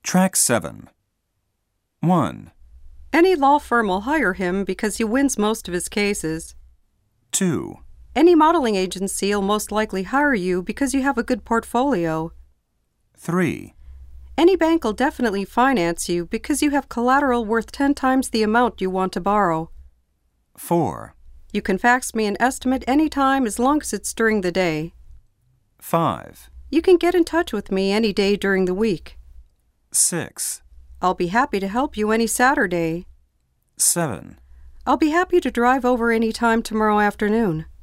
Track 7. 1, Any law firm will hire him because he wins most of his cases. 2, Any modeling agency will most likely hire you because you have a good portfolio. 3, Any bank will definitely finance you because you have collateral worth 10 times the amount you want to borrow. 4, You can fax me an estimate anytime as long as it's during the day. 5, You can get in touch with me any day during the week. 6, I'll be happy to help you any Saturday. 7. I'll be happy to drive over any time tomorrow afternoon.